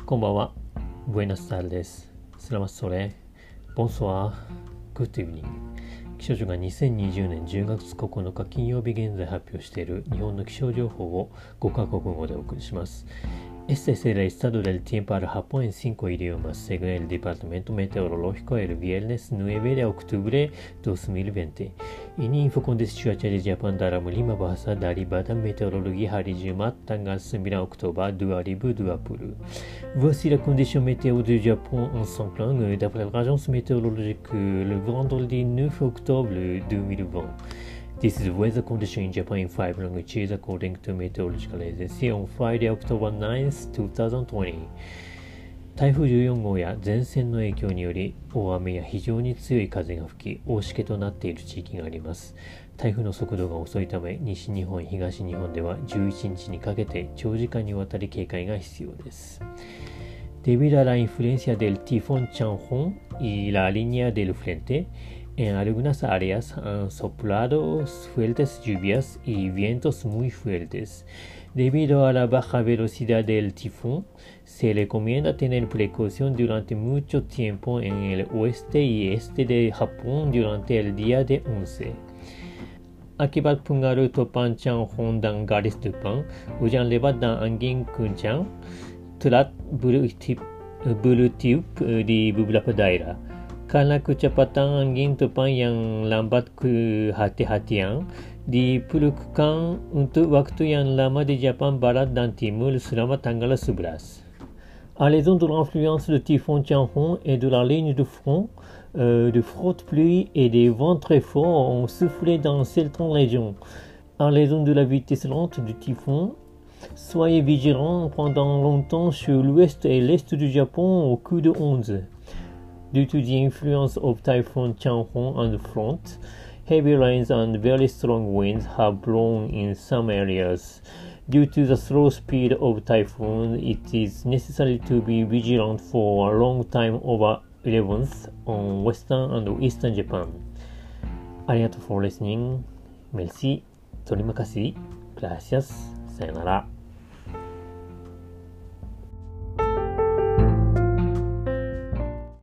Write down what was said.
こんばんは。Buenas tardes. Selamat sore. Bonsoir. Good evening. 気象庁が2020年10月9日金曜日現在発表している日本の気象情報を5カ国語でお送りします。Este es el estado del tiempo para Japón en 5 idiomas, según el Departamento Meteorológico el viernes 9 de octubre 2020. Ini info kondisi cuaca di Jepang dalam 5 bahasa dari Badan Meteorologi hari Jumat tanggal 9 Oktober 2020. Voici la condition météo du Japon en 5 langues d'après l'agence météorologique le vendredi 9 octobre 2020.This is the weather condition in Japan in 5 languages according to meteorological agency on Friday, October 9th, 2020. 台風14号や前線の影響により大雨や非常に強い風が吹き大しけとなっている地域があります。台風の速度が遅いため西日本、東日本では11日にかけて長時間にわたり警戒が必要です。Debido a la influencia del tifón Changhong y la línea del frente,En algunas áreas han soplado fuertes lluvias y vientos muy fuertes. Debido a la baja velocidad del tifón, se recomienda tener precaución durante mucho tiempo en el oeste y este de Japón durante el día de 11. Akibat pengaruh topan Changhong dan garis depan, hujan lebat dan angin kencang telah bertiup di beberapa daerah.Karena kecepatan angin topan yang lambat kehati-hatian diperlukan untuk waktu yang lama di Jepang Barat dan Timur selama tanggal 11. À raison de l'influence du typhon Changhong et de la ligne de front, de fortes pluies et des vents très forts ont soufflé dans certaines régions. À raison de la vitesse lente du typhon, soyez vigilants pendant longtemps sur l'ouest et l'est du Japon au coup de 11.Due to the influence of Typhoon Changhong on the front, heavy rains and very strong winds have blown in some areas. Due to the slow speed of typhoon, it is necessary to be vigilant for a long time over 11th on western and eastern Japan. ありがとう for listening. Merci. 取り任せ。Gracias. さよなら。